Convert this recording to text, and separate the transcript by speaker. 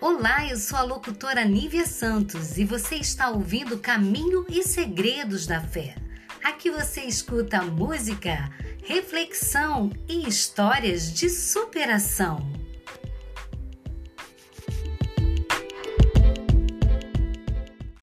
Speaker 1: Olá, eu sou a locutora Nívia Santos e você está ouvindo Caminho e Segredos da Fé. Aqui você escuta música, reflexão e histórias de superação.